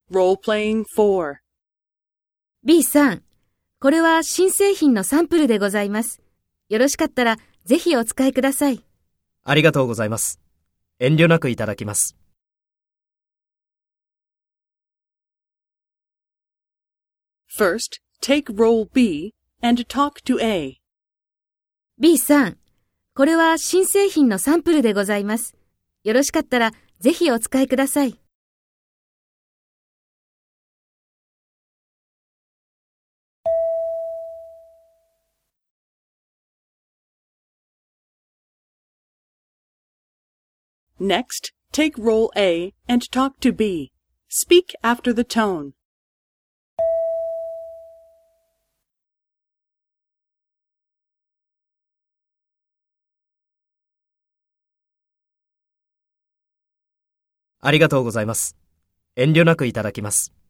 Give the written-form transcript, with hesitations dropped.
Role-playing 4. B さん、これは新製品のサンプルでございます。よろしかったらぜひお使いください。 ありがとうございます。遠慮なくいただきます。 First, take role B and talk to A. B さん、これは新製品のサンプルでございます。よろしかったらぜひお使いください。 Next, take role A and talk to B. Speak after the tone. ありがとうございます。遠慮なくいただきます。